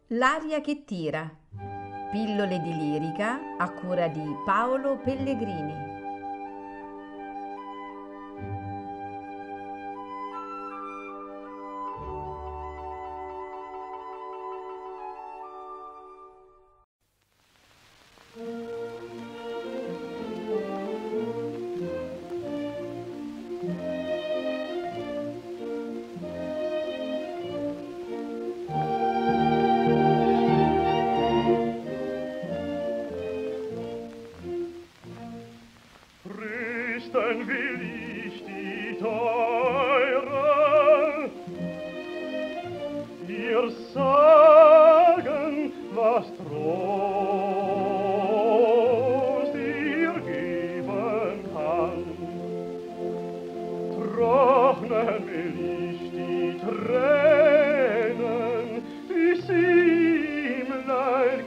L'aria che tira. Pillole di lirica a cura di Paolo Pellegrini. Trösten will ich die Teure, ihr sagen, was Trost ihr geben kann. Trocknen will ich die Tränen, die sie im Leid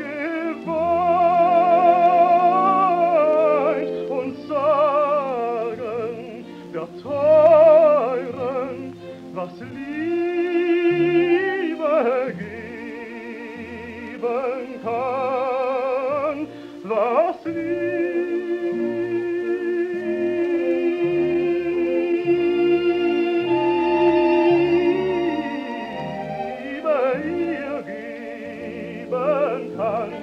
geweint, und sagen der Teuren, was Liebe geben kann, was Liebe ihr geben kann.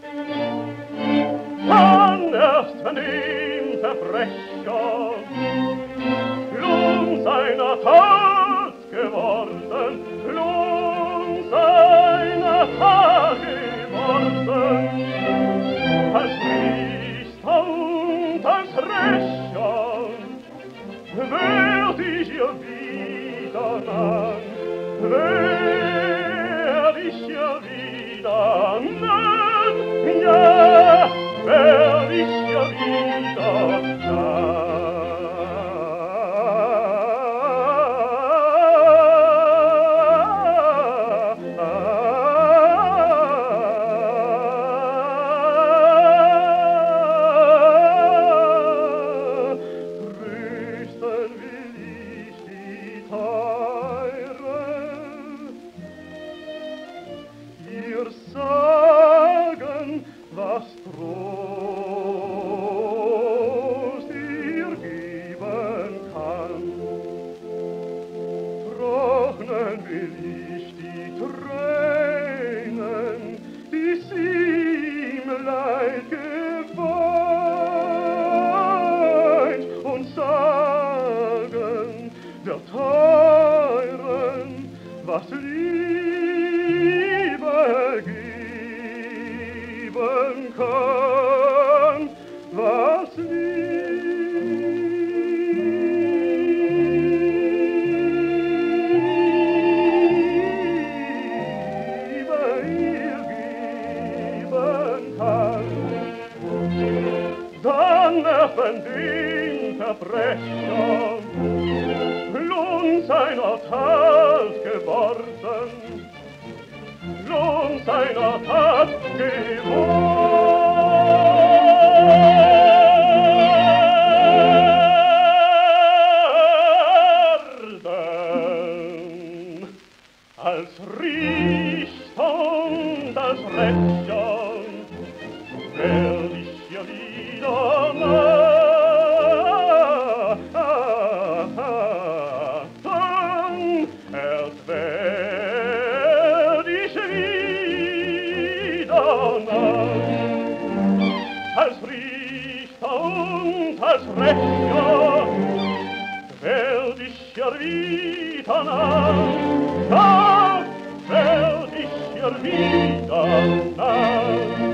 Dann erst wenn dem Verbrecher Lohn seiner Tat geworden, Lohn seiner Tat geworden, als Priester und als Rächer werd ich ihr wieder nah, werd ich ihr wieder nah, ja, werd ich ihr wieder nah. Trösten will ich die Teure, ihr sagen, was Trost ihr geben kann. Trocknen will ich die Tränen, die sie im Leid geweint, und sagen der Teuren, was Liebe geben kann, was Liebe ihr geben kann. Dann erfand den Verbrecher Lohn seiner Tat geworden, Lohn seiner Tat geworden, als Richter und als Rächer werd ich ihr wieder nah, dann erst werd ich wieder nah, als Richter und als Rächer werd ich ihr wieder nah, dann werd ich ihr wieder nah.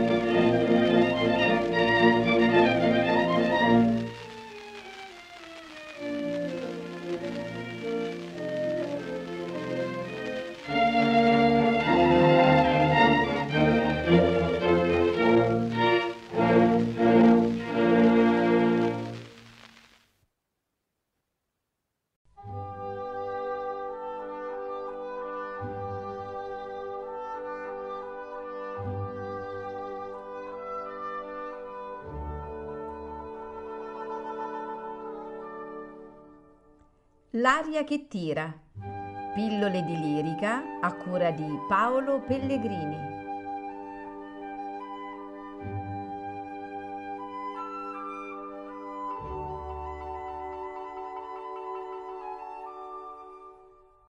L'aria che tira. Pillole di lirica a cura di Paolo Pellegrini.